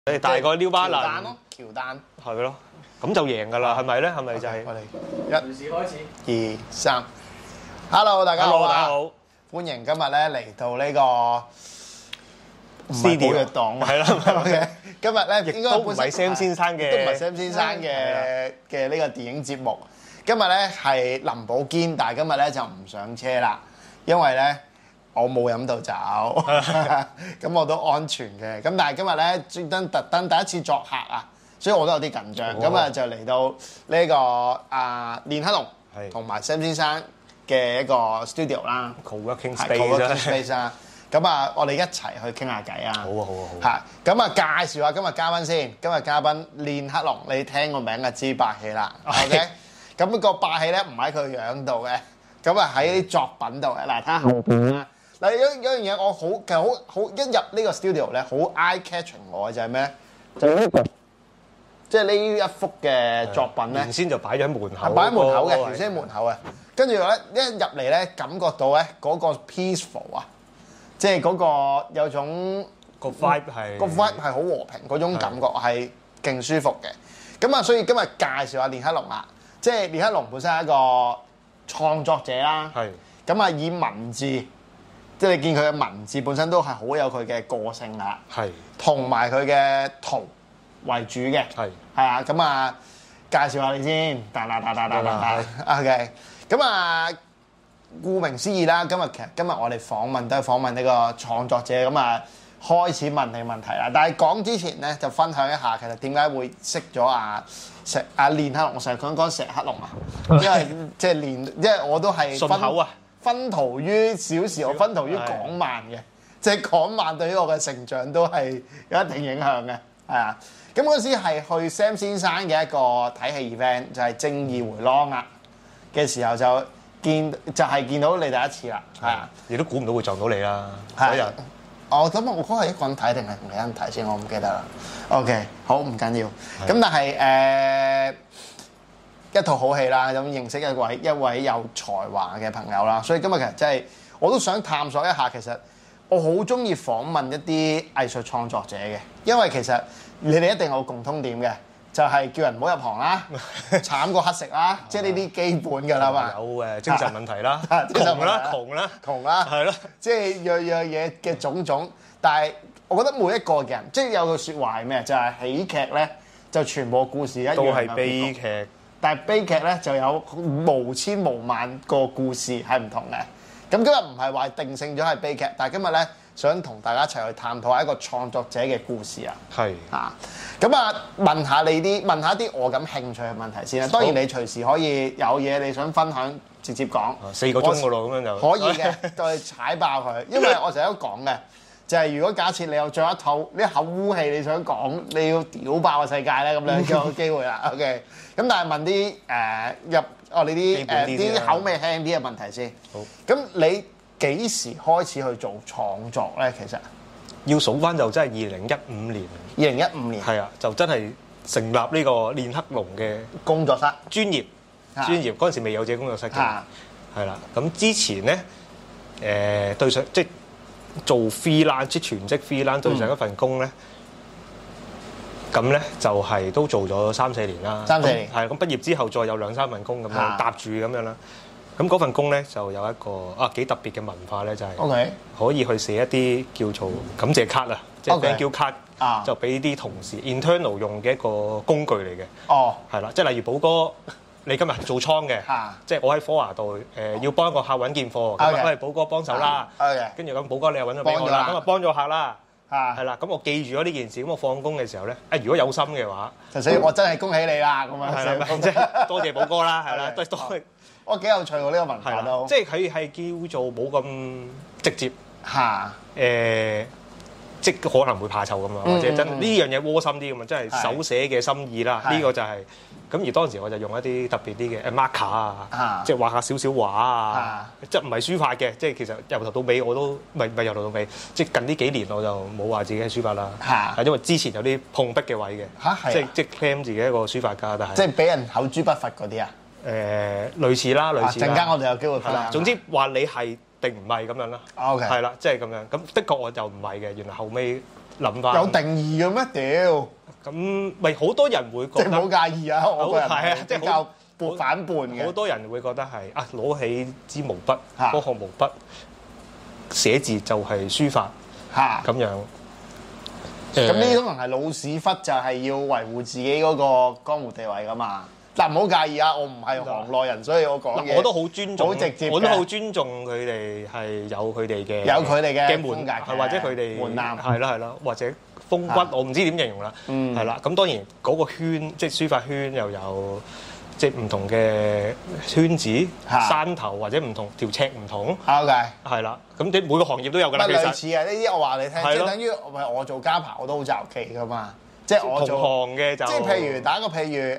你大個撩巴蘭咯，喬丹係咯，咁就贏㗎啦，係咪咧？係咪就係？ 我哋隨時開始，2、3 ，Hello， 大家好， 大家好， 歡迎今日咧嚟到呢個 Studio 嘅檔， 係啦 ，OK，今日咧應該都唔係 Sam 先生嘅， 都唔係 Sam 先生嘅呢個電影節目。今日咧係林寶堅，但係今日咧就唔上車啦，因為咧我冇飲到酒，咁我都安全嘅。咁但係今日咧專登特登第一次作客啊，所以我都有啲緊張。咁啊就嚟到呢個練黑龍同埋 Sam 先生嘅一個 studio 啦 ，co-working space 啊。咁啊，我哋一齊去傾下偈啊！ 好啊，好啊，好啊！ 嚇，咁啊，介紹下今日嘉賓先。今日嘉賓練黑龍，你聽個名就知霸氣啦。OK，咁個霸氣咧唔喺佢樣度嘅，咁啊喺啲作品度嘅。嗱，睇下後邊啦。嗱，有樣嘢我其實好一入呢個 studio 咧，好 eye catching 我嘅就係咩咧？就係呢個，即係呢一幅嘅作品咧。 原先就擺咗喺門口， 擺喺門口嘅，原先喺門口嘅。跟住咧一入嚟咧，感覺到咧嗰個 peaceful 啊！即係嗰個有種個 vibe 係好和平嗰種感覺係勁舒服嘅。咁啊，所以今日介紹下練黑龍啦。即係練黑龍本身係一個創作者啦。係。咁啊，以文字，即係你見佢嘅文字本身都係好有佢嘅個性啦。係。同埋佢嘅圖為主嘅。係。係啊，咁啊，介紹下你先。OK。咁啊。顧名思義啦，今日我哋訪問都係訪問呢個創作者，咁啊開始問你問題啦。但係講之前咧，就分享一下其實點解會識咗練黑龍，我成日講石黑龍啊，因為即係因為我都係順口啊， 薰陶於小時，我薰陶於港漫嘅，即係港漫對於我嘅成長都係有一定影響嘅，係啊。咁嗰時係去 Sam 先生嘅一個睇戲 event， 就係《正義迴廊》啊嘅時候就見到你第一次啦，係啊！ 你都估唔到會撞到你啦嗰日。 我諗我嗰日一個人睇定係同你一人睇先，我唔記得啦。OK， 好唔緊要。咁但係一套好戲啦，咁認識一位有才華嘅朋友啦，所以今日其實真係我都想探索一下，其實我好中意訪問一啲藝術創作者嘅，因為其實你哋一定有共通點嘅。就係叫人唔好入行啦，慘過乞食啦，即係呢啲基本㗎啦嘛。有精神問題啦，窮啦，係咯， 即係樣嘢嘅種種。但係我覺得每一個人，即係有句説話係咩？就係喜劇咧，就全部故事一樣。都係悲劇。但係悲劇咧就有無千無萬個故事係唔同嘅。咁今日唔係話定性咗係悲劇，但係今日咧想同大家一齊去探討一個創作者嘅故事啊。係啊。咁啊，問下啲我咁興趣嘅問題先啦。當然你隨時可以有嘢你想分享，直接講。4個鐘㗎咯，咁樣就可以嘅，再踩爆佢。因為我成日都講嘅，就係如果假設你有咗一口污氣，你想講你要屌爆個世界咧，咁樣就有機會啦。OK。咁但係問啲你啲口味輕啲嘅問題先。好。咁你幾時開始去做創作咧？其實？ 要數翻就真係2015年。 2015年係啊，就真係成立呢個練黑龍嘅工作室，專業嗰陣時未有自己工作室嘅，係啦。咁之前咧，對上即係做 freelance 即全職 freelance 對上一份工咧，咁咧就係都做咗3-4年啦。3-4年係咁畢業之後再有2-3份工咁樣搭住咁樣啦。咁嗰份工咧就有一個幾特別嘅文化咧，就係可以去寫一啲叫做感謝卡啊，即係 thank you card，就俾啲同事 internal 用嘅一個工具嚟嘅。哦，係啦，即係例如寶哥，你今日做倉嘅，即係我喺科華度要幫一個客揾件貨，咁喂寶哥幫手啦。跟住咁寶哥你又揾咗俾我啦，咁啊幫咗客啦。係啦，咁我記住咗呢件事，咁我放工嘅時候咧，如果有心嘅話， 所以我真係恭喜你啦，咁樣。 係啦，即係多謝寶哥啦，係啦，都多。 我幾有趣喎，呢個文化都， 即係佢係叫做冇咁直接嚇，即可能會怕醜咁啊，或者真呢樣嘢窩心啲咁啊，真係手寫嘅心意啦。呢個就係咁，而當時我就用一啲特別啲嘅 marker 啊，即係畫下少少畫啊，即係唔係書法嘅，即係其實由頭到尾我都唔係由頭到尾，即係近呢幾年我就冇話自己係書法啦，係因為之前有啲碰壁嘅位嘅，即係 claim 自己一個書法家，但係即係俾人口誅筆伐嗰啲啊。 類似啦，類似啦。陣間我哋有機會分享。 總之話你係定唔係咁樣啦。OK。係啦，即係咁樣。咁的確我就唔係嘅。原來後尾諗法。 有定義嘅咩？屌！ 咁咪好多人會覺得即係唔好介意啊！我個人係啊，即係比較反叛嘅。 好多人會覺得係啊，攞起支毛筆，嗰項毛筆寫字就係書法咁樣。 咁呢種人係老屎忽，就係要維護自己嗰個江湖地位噶嘛。嗱，唔好介意啊，我唔係行內人，所以我講嘢我都好尊重， 好直接， 我都好尊重佢哋係有佢哋嘅門格，或者佢哋門檻， 係啦，或者風骨，我唔知點形容啦，係啦。咁當然嗰個圈，即係書法圈又有即係唔同嘅圈子、山頭或者唔同條尺唔同。 OK， 係啦。咁你每個行業都有㗎啦。 乜類似啊？呢啲我話你聽，即係等於我做家扒我都好就期㗎嘛。即係我做同行嘅就， 即係譬如打個譬如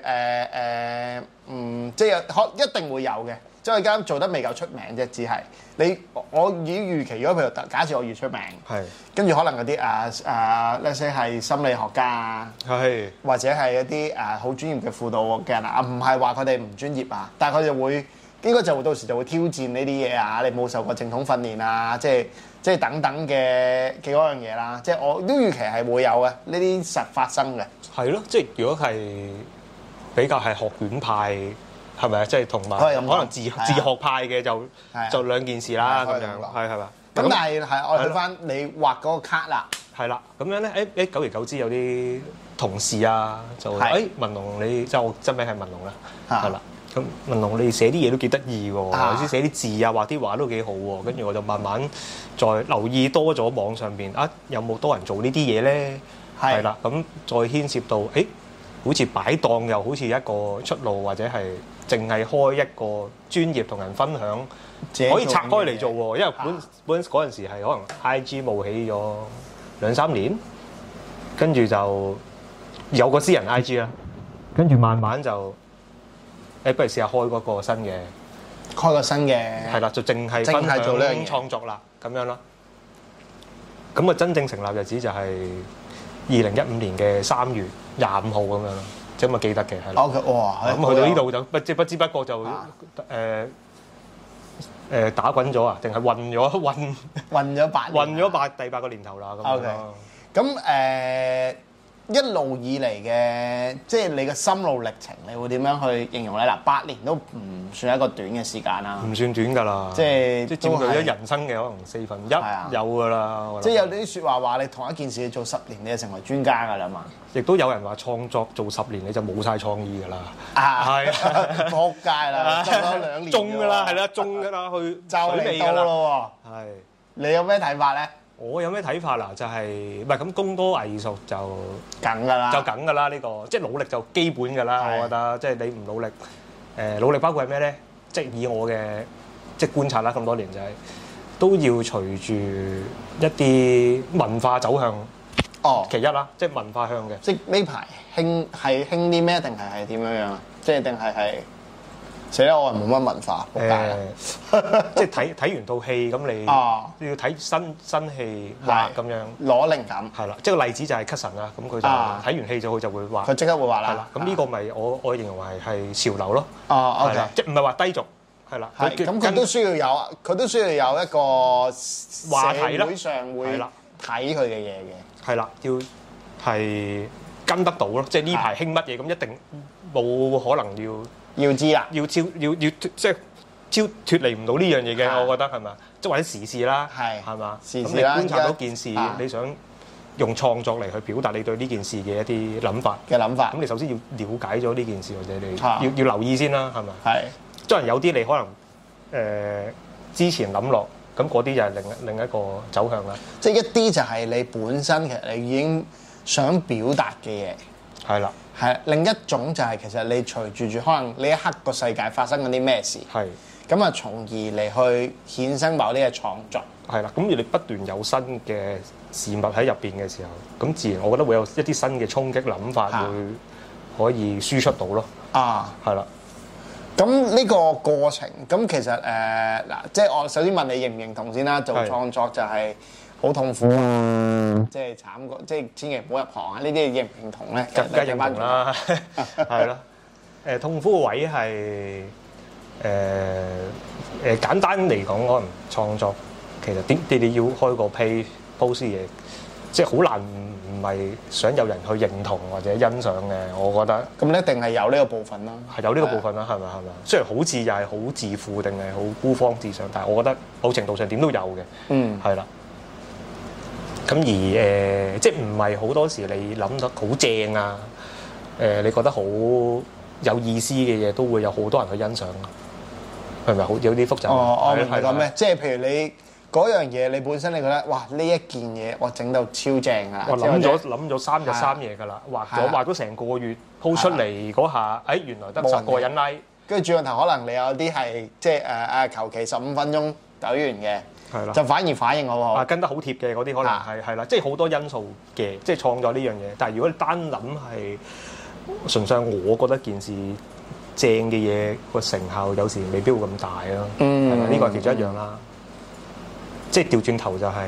即係一定會有嘅。即係我而家做得未夠出名啫，只係我已經預期，如果譬如假設我越出名，係跟住可能嗰啲let's say 係心理學家啊，係或者係一啲好專業嘅輔導嘅人啊，唔係話佢哋唔專業啊，但係佢哋會應該就會到時就會挑戰呢啲嘢啊，你冇受過正統訓練啊，即係等等嘅嗰樣嘢啦，即係我都預期係會有嘅呢啲實發生嘅。係咯，即係如果係比較係學院派，係咪啊？即係同埋可能自學派嘅就兩件事啦，咁樣係嘛？咁但係我哋去翻你畫嗰個卡啦，係啦，咁樣咧久而久之有啲同事啊就文龍你即係我真名係文龍啦，係啦。咁文龍你寫啲嘢都幾得意喎，有時寫啲字啊畫啲畫都幾好喎，跟住我就慢慢再留意多咗網上邊有冇多人做呢啲嘢咧？係啦，咁再牽涉到好似擺檔又好似一個出路，或者係淨係開一個專業同人分享，可以拆開嚟做喎。因為本嗰陣時係可能 IG 冒起咗2-3年，跟住就有個私人 IG 啦，跟住慢慢就不如試下開嗰個新嘅，係啦，就淨係分享創作啦，咁樣咯。咁啊，真正成立日子就係2015年嘅3月25號咁樣咯，即係咁啊記得嘅係啦。哇！咁去到呢度就不知不覺就打滾咗啊，定係運咗第8個年頭啦咁樣。咁一路以嚟嘅，即係你嘅心路歷程，你會點樣去形容咧？嗱，8年都唔算一個短嘅時間啦，唔算短㗎啦，即係佔據咗人生嘅可能1/4，有㗎啦。即係有啲説話你同一件事你做10年，你就成為專家㗎啦嘛。亦都有人話創作做10年你就冇晒創意㗎啦。係撲街啦，做咗2年，中㗎啦，係啦，中㗎啦，去就嚟到咯喎。係，你有咩睇法咧？我有咩睇法啦？就係唔係咁工多藝術就梗㗎啦，呢個即係努力就基本㗎啦。我覺得即係你唔努力，努力包括係咩咧？即係以我嘅即係觀察啦，咁多年就係都要隨住一啲文化走向。其一啦，即係文化向嘅。即係呢排興啲咩？定係點樣啊？即係定係死啦！我係冇乜文化，即係睇完套戲咁，你要睇新戲畫咁樣攞靈感係啦。即係個例子就係 Cuson 啦，咁佢就睇完戲佢就會畫，佢即刻會畫啦。係啦，咁呢個咪我形容為係潮流咯。係啦，即係唔係話低俗係啦。咁佢都需要有一個話題啦，社會上會睇佢嘅嘢嘅。係啦，要係跟得到咯。即係呢排興乜嘢咁，一定冇可能要知啦，要即係脫離唔到呢樣嘢嘅，我覺得係咪？即係或者時事啦，係嘛？時事啦，咁你觀察到件事，你想用創作嚟去表達你對呢件事嘅一啲諗法。咁你首先要了解咗呢件事，或者你要留意先啦，係咪？係。當然有啲你可能之前諗落，咁嗰啲就係另一個走向啦。即係一啲就係你本身其實你已經想表達嘅嘢。係啦。係另一種就係其實你隨住可能呢一刻個世界發生緊啲咩事，係咁啊，從而嚟去衍生某啲嘅創作。係啦，咁而你不斷有新嘅事物喺入邊嘅時候，咁自然我覺得會有一啲新嘅衝擊諗法會可以輸出到咯。係啦。咁呢個過程，咁其實嗱，即係我首先問你認唔認同先啦？做創作就係好痛苦啊！即係慘過，即係千祈唔好入行啊！呢啲認唔認同咧？梗係認同啦，係咯。痛苦嘅位係簡單嚟講，可能創作其實你要開個 post 嘢， 即係好難唔係想有人去認同或者欣賞嘅，我覺得。 咁你一定係有呢個部分啦。 係有呢個部分啦，係咪？雖然好似又係好自負定係好孤芳自賞，但係我覺得某程度上點都有嘅。嗯，係啦。咁而即係唔係好多時你諗得好正啊？你覺得好有意思嘅嘢，都會有好多人去欣賞，係咪好有啲複雜？ 我明白咩？即係譬如你嗰樣嘢，你本身你覺得哇呢一件嘢我整到超正啊！ 我諗咗3日3夜㗎啦，畫咗成個月鋪出嚟嗰下，原來得10個人 like， 跟住轉個頭可能你有啲係即係求其15分鐘抖完嘅。係啦，就反而反應好好。 跟得好貼嘅嗰啲可能係啦，即係好多因素嘅，即係創作呢樣嘢。但係如果你單諗係純粹，我覺得件事正嘅嘢個成效有時未必會咁大咯。係咪？呢個係其中一樣啦。即係調轉頭就係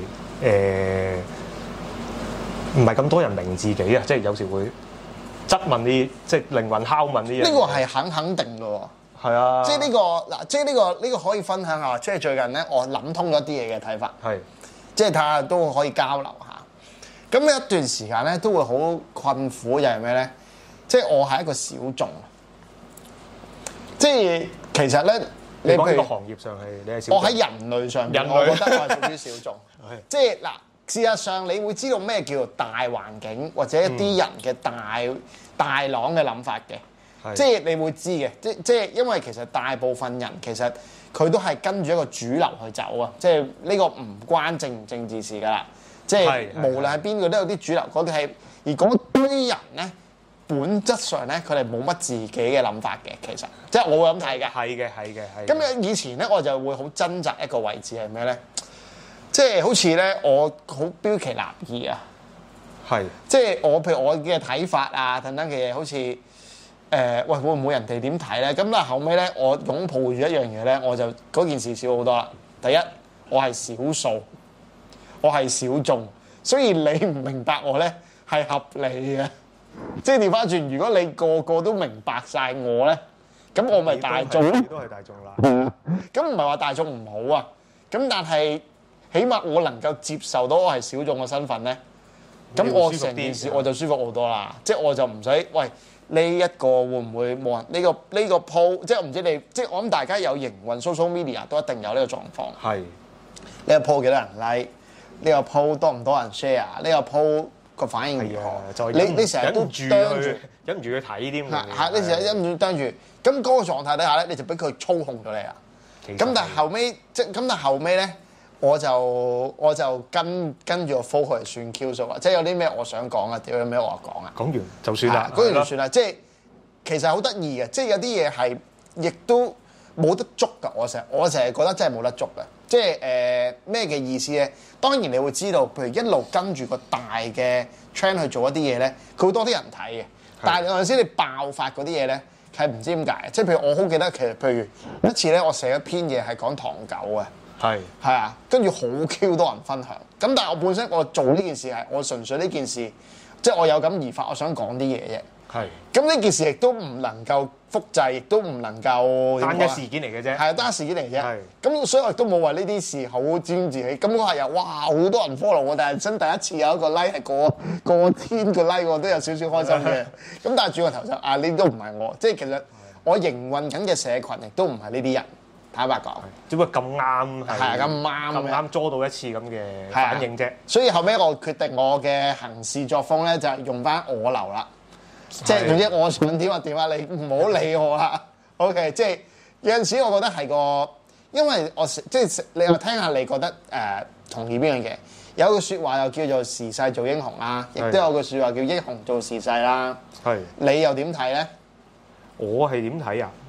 唔係咁多人明自己啊！即係有時會質問啲，即係靈魂拷問呢樣。 呢個係肯定嘅喎。係啊， 即係呢個嗱，即係呢個可以分享下。即係最近咧，我諗通咗啲嘢嘅睇法。係，即係睇下都可以交流下。咁一段時間咧，都會好困苦，又係咩咧？即係我係一個小眾。即係其實咧， 你講呢個行業上係你係小眾。 我喺人類上面，我覺得我係屬於小眾。即係嗱，事實上你會知道咩叫做大環境或者一啲人嘅大朗嘅諗法嘅。即係你會知嘅，即係因為其實大部分人其實佢都係跟住一個主流去走啊！即係呢個唔關政唔政治事㗎啦。即係無論係邊個都有啲主流嗰啲係，而嗰堆人咧本質上咧佢哋冇乜自己嘅諗法嘅，其實即係我會咁睇嘅。係嘅。咁以前咧我就會好掙扎一個位置係咩咧？即係好似咧我好標奇立異啊！係，即係我譬如我嘅睇法啊等等嘅嘢，好似。喂，會唔會人哋點睇咧？咁但係後尾咧，我擁抱住一樣嘢咧，我就嗰件事少好多啦。第一，我係少數，我係小眾，所以你唔明白我咧係合理嘅。即係調翻轉，如果你個個都明白晒我咧，咁我咪大眾咯。 都係大眾啦。 咁唔係話大眾唔好啊。咁但係起碼我能夠接受到我係小眾嘅身份咧，咁我成件事我就舒服好多啦。即係我就唔使喂。呢一個會唔會冇人？呢個 po 即係我唔知你，即係我諗大家有營運 social media 都一定有呢個狀況。係呢個 po 幾多人 like？呢個 po 多唔多人 share？呢個 po 個反應如何？你成日都忍唔住去睇添。 係你成日忍唔住盯住，咁嗰個狀態底下咧，你就俾佢操控咗你啦。咁但係後尾咧，我就跟住個 flow 嚟算 Q 數啊！即係有啲咩我想講啊，有咩我話講啊。講完就算啦，講完就算啦。即係其實好得意嘅，即係有啲嘢係亦都冇得捉㗎。我成日覺得真係冇得捉㗎。即係咩嘅意思咧？當然你會知道，譬如一路跟住個大嘅 trend 去做一啲嘢咧，佢會多啲人睇嘅。但係有陣時你爆發嗰啲嘢咧，係唔知點解。即係譬如我好記得，其實譬如一次咧，我寫一篇嘢係講唐狗嘅。係啊，跟住好 Q 多人分享。咁但係我本身我做呢件事係我純粹呢件事，即係我有感而發，我想講啲嘢啫。係。咁呢件事亦都唔能夠複製，亦都唔能夠單一事件嚟嘅啫。係單一事件嚟嘅啫。係。咁所以我亦都冇話呢啲事好沾自喜。咁嗰日又哇好多人 follow 我，但係真第一次有一個 like 係過千個 like，我都有少少開心嘅。咁但係轉個頭就呢都唔係我，即係其實我營運緊嘅社群亦都唔係呢啲人。坦白講， 只不過咁啱係咁啱捉到一次咁嘅反應啫。 所以後尾我決定我嘅行事作風咧，就係用翻我流啦。即係總之我想點就點啊，你唔好理我啦。OK， 即係有陣時我覺得係個，因為我即係你又聽下，你覺得同意邊樣嘢？有句説話又叫做時勢造英雄啦，亦都有句説話叫英雄造時勢啦。係，你又點睇咧？ 我係點睇啊？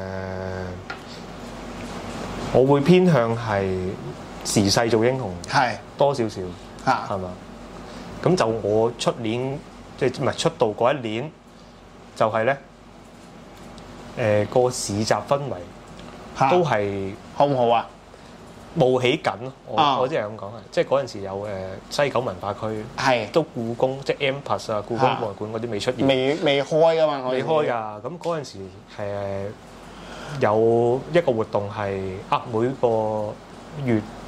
我會偏向係時勢做英雄，係多少少嚇，係嘛？咁就我出年即係唔係出道嗰一年，就係咧個市集氛圍都係好唔好啊？ 冒起緊咯，我即係咁講啊！即係嗰陣時有西九文化區，係都故宮即係 M+ 啊，故宮博物館嗰啲未出現， 未開噶嘛， 未開㗎。咁嗰陣時有一個活動係每個月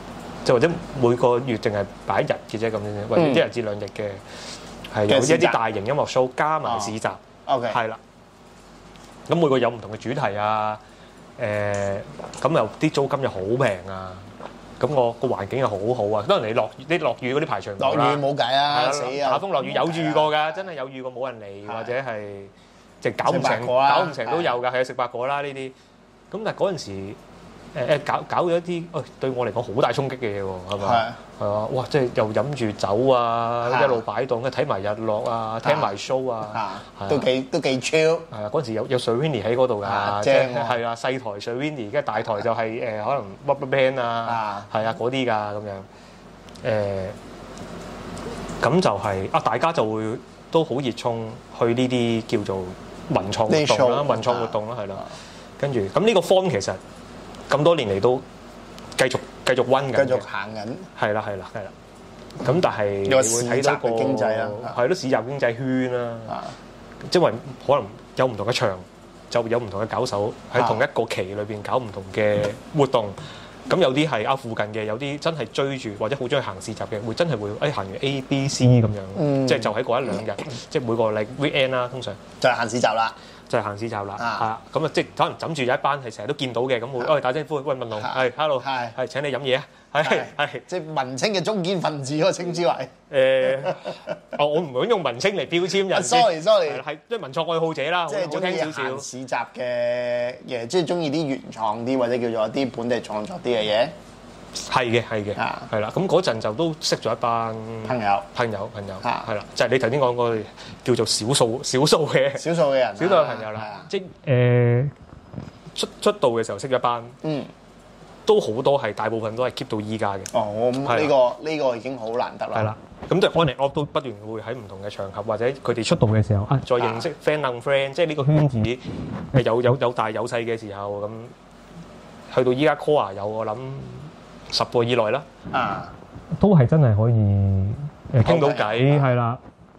即或者每個月淨係擺一日嘅啫咁樣，或者一日至兩日嘅，係有一啲大型音樂 show 加埋市集。 OK， 係啦。咁每個有唔同嘅主題啊，咁又啲租金又好平啊，咁個環境又好好啊。當然你落雨嗰啲排場落雨冇計啊，死啊！ 打風落雨有遇過㗎，真係有遇過冇人嚟，或者係即係搞唔成都有㗎，係食白果啦呢啲。咁但係嗰陣時搞咗一啲對我嚟講好大衝擊嘅嘢喎，係咪？係啊！哇！即係又飲住酒啊，一路擺檔，睇埋日落啊，聽埋 show 啊， 都幾 chill。係啊！嗰陣時有水 Winnie 喺嗰度㗎，即係係啊細台水 Winnie，跟住大台就係可能 RubberBand 啊，係啊嗰啲㗎咁樣。咁就係大家就會都好熱衷去呢啲叫做文創活動啦，文創活動啦，係啦。跟住咁呢個 form 其實咁多年嚟都繼續溫緊，繼續行緊。係啦。 咁但係你會睇到個經濟啦， 係咯市集經濟圈啦。因為可能有唔同嘅場，就有唔同嘅搞手喺同一個期裏邊搞唔同嘅活動。咁有啲係附近嘅，有啲真係追住或者好中意行市集嘅，會真係會行完 A、B、C 咁樣，即係就喺嗰一兩日，即係每個禮 weekend 啦，通常就係行市集啦。 就係行市集啦，咁啊，即係可能枕住有一班係成日都見到嘅，咁會打招呼，喂文龍，係 hello，係請你飲嘢啊，係即係文青嘅中堅分子嗰個稱之為我唔會用文青嚟標籤人 ，sorry， 係即係文創愛好者啦， 即係中意行市集嘅嘢，即係中意啲原創啲或者叫做一啲本地創作啲嘅嘢。 係嘅，係啦。咁嗰陣就都識咗一班朋友，係啦，就係你頭先講個叫做少數嘅人，少數嘅朋友啦。即係出道嘅時候識咗一班，都好多係大部分都係 keep 到依家嘅。 哦，咁呢個已經好難得啦。 係啦，咁就 on and off 都不斷會喺唔同嘅場合或者佢哋出道嘅時候再認識 friend，即係呢個圈子有大有細嘅時候咁，去到依家 core 有我諗10個以內啦，都係真係可以傾到偈，係啦，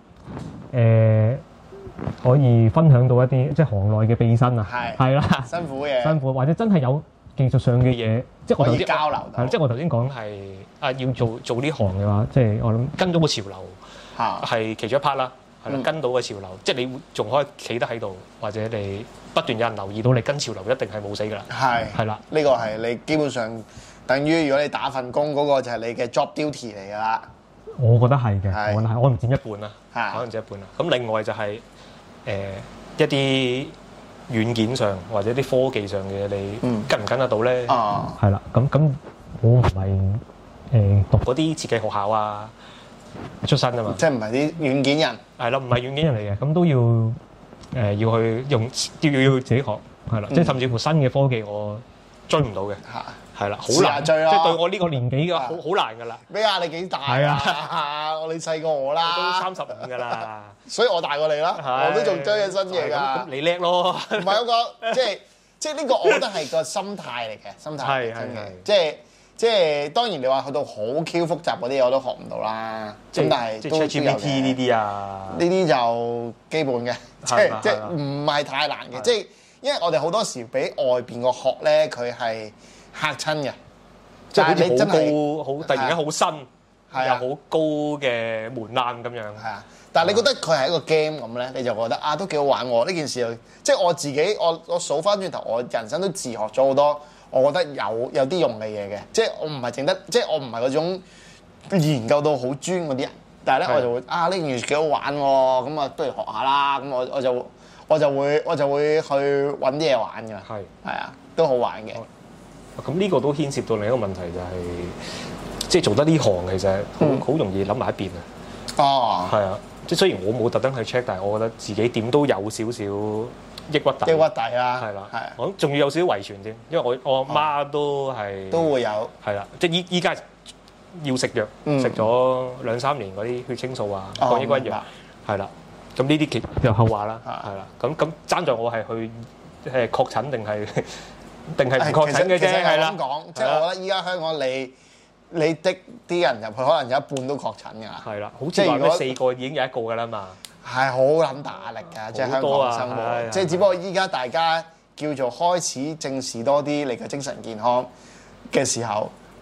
可以分享到一啲即係行內嘅秘辛啊，係啦，辛苦或者真係有技術上嘅嘢，即係我頭先交流，係即係我頭先講係要做呢行嘅話，即係我諗跟到個潮流係其中一 part 啦，係啦，跟到個潮流，即係你仲可以企得喺度，或者你不斷有人留意到你跟潮流，一定係冇死㗎啦，係啦，呢個係你基本上。等於如果你打份工嗰個就係你嘅 job duty 嚟㗎啦，我覺得係嘅，我覺得係，我唔佔一半啦，可能佔一半啦。咁另外就係一啲軟件上或者啲科技上嘅你跟唔跟得到咧？係啦，咁我唔係讀嗰啲設計學校啊出身啊嘛，即係唔係啲軟件人？係啦，唔係軟件人嚟嘅，咁都要要去用要自己學，係啦，即係甚至乎新嘅科技我追唔到嘅。係啦，好難追啦！即係對我呢個年紀嘅好難㗎啦。咩啊？你幾大啊？你細過我啦，都35㗎啦。所以我大過你啦，我都仲追緊新嘢㗎。咁你叻咯？唔係嗰個，即係呢個，我覺得係個心態嚟嘅，心態真嘅。即係當然你話去到好 Q 複雜嗰啲，我都學唔到啦。咁但係即係 ChatGPT 呢啲啊，呢啲就基本嘅，即係唔係太難嘅。即係因為我哋好多時俾外邊個學咧，佢係嚇親嘅，即係好似好高，好突然間好新，又好高嘅門檻咁樣。係啊，但係你覺得佢係一個 game 咁咧，你就覺得都幾好玩喎！呢件事即係我自己，我數翻轉頭，我人生都自學咗好多，我覺得有啲用嘅嘢嘅。即係我唔係淨得，即係我唔係嗰種研究到好專嗰啲人，但係咧我就會呢件事幾好玩喎，咁啊不如學下啦。咁我就會去揾啲嘢玩㗎。係啊，都好玩嘅。咁呢個都牽涉到另一個問題，就係即係做得呢行其實好容易諗埋一邊啊。哦，係啊，即係雖然我冇特登去 check，但係我覺得自己點都有少少抑鬱底。抑鬱底啊，係啦，係。我諗仲要有少少遺傳添，因為我阿媽都會有。係啦，即係依家要食藥，食咗2-3年嗰啲血清素啊、抗抑鬱藥，係啦。咁呢啲其實後話啦，係啦。咁爭在我係去確診定係唔確診嘅啫，係啦。咁講，即係我覺得依家香港你的啲人入去，可能有一半都確診㗎。係啦，好似話咩4個已經有1個㗎啦嘛。係好撚大壓力㗎，即係香港生活。即係只不過依家大家叫做開始正視多啲你嘅精神健康嘅時候，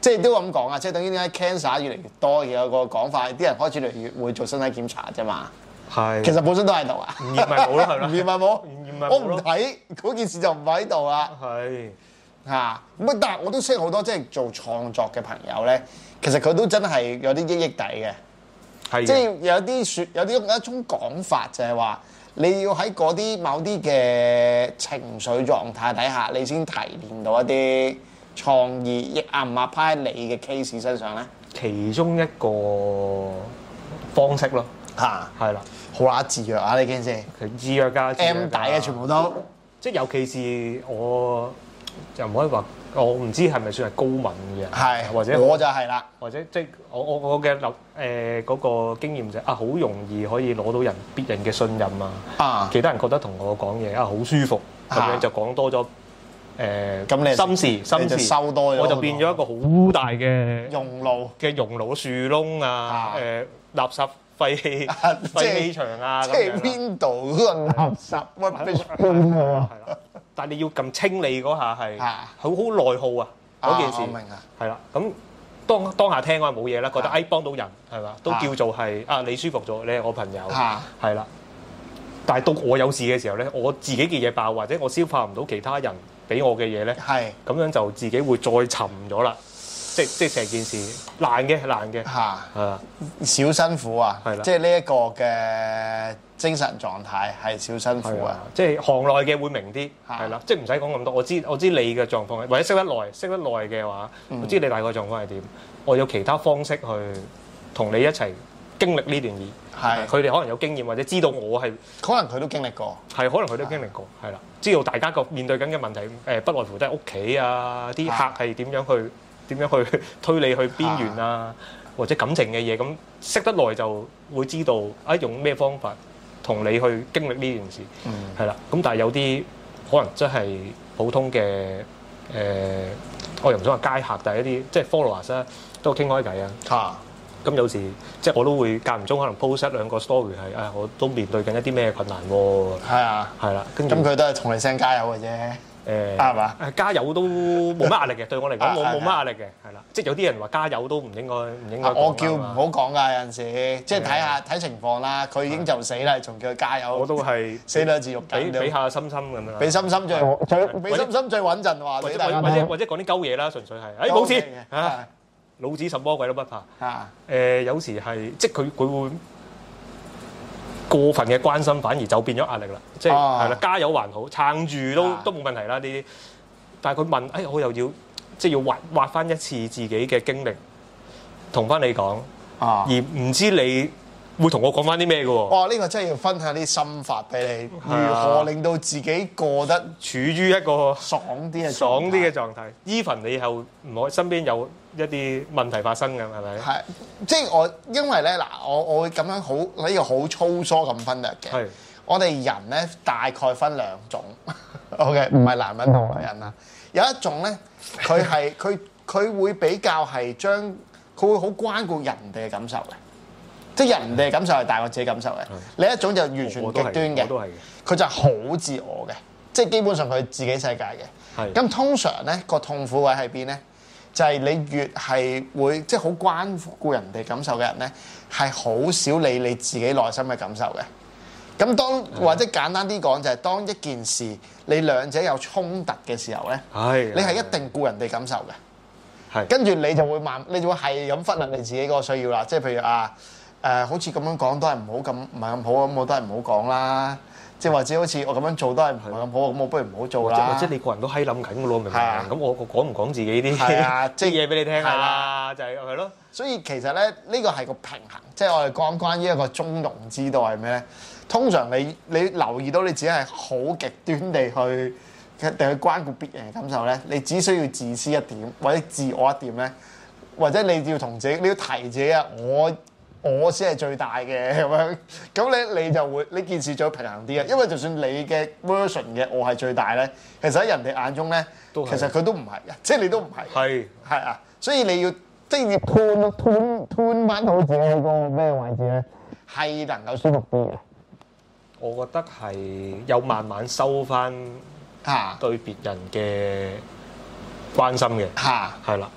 即係都咁講啊，即係等於點解 cancer 越嚟越多，有個講法，啲人開始越嚟越會做身體檢查啫嘛。係，其實本身都喺度啊。唔驗咪冇咯，係啦。唔驗咪冇，我唔睇嗰件事就唔喺度啦。係嚇，咁但係我都識好多即係做創作嘅朋友咧，其實佢都真係有啲益益底嘅。係，即係有一種講法就係話，你要喺嗰啲某啲嘅情緒狀態底下，你先提煉到一啲創意，亦啱唔啱喺你嘅 case 身上咧？其中一個方式咯。嚇，係啦，好乸自虐啊！呢件事，自虐㗎 M 底嘅全部都，即係尤其是我又唔可以話，我唔知係咪算係高敏嘅，係或者我就係啦，或者即係我嘅嗰個經驗就係好容易可以攞到別人嘅信任啊，其他人覺得同我講嘢好舒服，咁樣就講多咗心事收多咗，我就變咗一個好大嘅熔爐樹窿啊，垃圾。廢氣場啊，即係邊度嗰個垃圾 rubbish bin 喎，係啦。但係你要咁清理嗰下係好內耗啊嗰件事，我明啊，係啦。咁當下聽我係冇嘢啦，覺得幫到人係嘛，都叫做係你舒服咗，你係我朋友係啦。但係到我有事嘅時候咧，我自己嘅嘢爆或者我消化唔到其他人俾我嘅嘢咧，係咁樣就自己會再沉咗啦。即係成件事難嘅嚇，係啊，少辛苦啊，係啦，即係呢一個嘅精神狀態係少辛苦啊，即係行內嘅會明啲，係啦，即係唔使講咁多，我知你嘅狀況，或者識得耐嘅話，我知你大概狀況係點，我有其他方式去同你一齊經歷呢段嘢，係佢哋可能有經驗或者知道我係，可能佢都經歷過，係可能佢都經歷過，係啦，知道大家個面對緊嘅問題，不外乎都係屋企啊，啲客係點樣去推你去邊緣啊，或者感情嘅嘢，咁識得耐就會知道用咩方法同你去經歷呢件事，係啦。咁但係有啲可能真係普通嘅我又唔想話街客，但係一啲即係 followers 啦，都傾開偈啊。咁有時即係我都會間唔中可能 post 一兩個 story 係我都面對緊一啲咩困難喎。係啊，係啦。咁佢都係同你聲加油嘅啫。係嘛？加油都冇乜壓力嘅，對我嚟講冇乜壓力嘅，係啦。即係有啲人話加油都唔應該。我叫唔好講㗎，有陣時即係睇情況啦。佢已經就死啦，仲叫佢加油。我都係死兩字肉緊。俾下心心咁樣。俾心心最穩陣話。或者講啲鳩嘢啦，純粹係。冇事嚇，老子什麼鬼都不怕。有時係即係佢會過分嘅關心，反而就變咗壓力啦。即係係啦，加油還好，撐住都冇問題啦。呢啲，但係佢問，我又要即係要挖翻一次自己嘅經歷，同翻你講，而唔知你會同我講翻啲咩嘅喎？哇！呢個真係要分享啲心法俾你，如何令到自己過得處於一個爽啲嘅狀態。even 你又唔可身邊有一啲問題發生嘅，係咪？係，即係因為咧嗱，我會咁樣呢個好粗疏咁分略嘅。係，我哋人咧大概分兩種，OK，唔係男人同女人啦。有一種咧，佢會比較係佢會好關顧人哋嘅感受嘅，即係人哋嘅感受係大過自己感受嘅。另一種就完全極端嘅，佢就係好自我嘅，即係基本上佢自己世界嘅。係。咁通常咧個痛苦位喺邊咧？就係你越係會即係好關顧人哋感受嘅人咧，係好少理你自己內心嘅感受嘅。咁或者簡單啲講，就係當一件事你兩者有衝突嘅時候咧，你係一定顧人哋感受嘅。係。跟住你就會係咁忽略你自己嗰個需要啦。即係譬如好似咁樣講都係唔係咁好，咁我都係唔好講啦。即係或者好似我咁樣做都係唔係咁好，咁我不如唔好做啦。或者你個人都閪諗緊嘅咯，明唔明？咁我講唔講自己啲即係嘢俾你聽啊？就係咯。所以其實咧，呢個係個平衡，即係我哋講關於一個中庸之道係咩咧？通常你留意到你自己係好極端地去關顧別人嘅感受咧，你只需要自私一點或者自我一點咧，或者你要同自己，你要提自己啊，我先係最大嘅咁樣，咁你就會呢件事最平衡啲啊！因為就算你嘅 version 嘅我係最大咧，其實喺人哋眼中咧，其實佢都唔係嘅，即係你都唔係。係啊，所以你要即係要吞翻好自己喺個咩位置咧，係能夠舒服啲嘅。我覺得係有慢慢收翻對別人嘅關心嘅。係啦。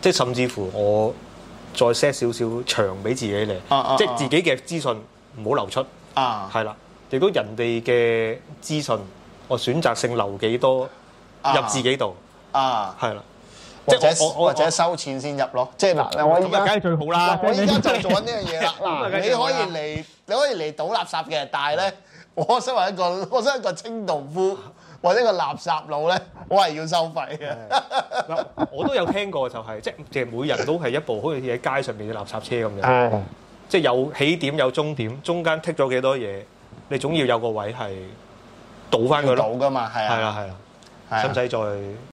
即係甚至乎我再 set 少少長俾自己嚟，即係自己嘅資訊唔好流出，係啦。亦都人哋嘅資訊，我選擇性留幾多入自己度，係啦。 或者收錢先入咯，即係嗱，我依家梗係最好啦。 我依家就做緊呢樣嘢啦。嗱，你可以嚟倒垃圾嘅，但係咧，我身為一個清道夫或者一個垃圾佬咧，我係要收費嘅。 我都有聽過，就係即係每人都係一部好似喺街上面嘅垃圾車咁樣，即係有起點有終點，中間剔咗幾多嘢，你總要有個位係倒翻佢咯。 倒㗎嘛，係啊， 係啦，使唔使再？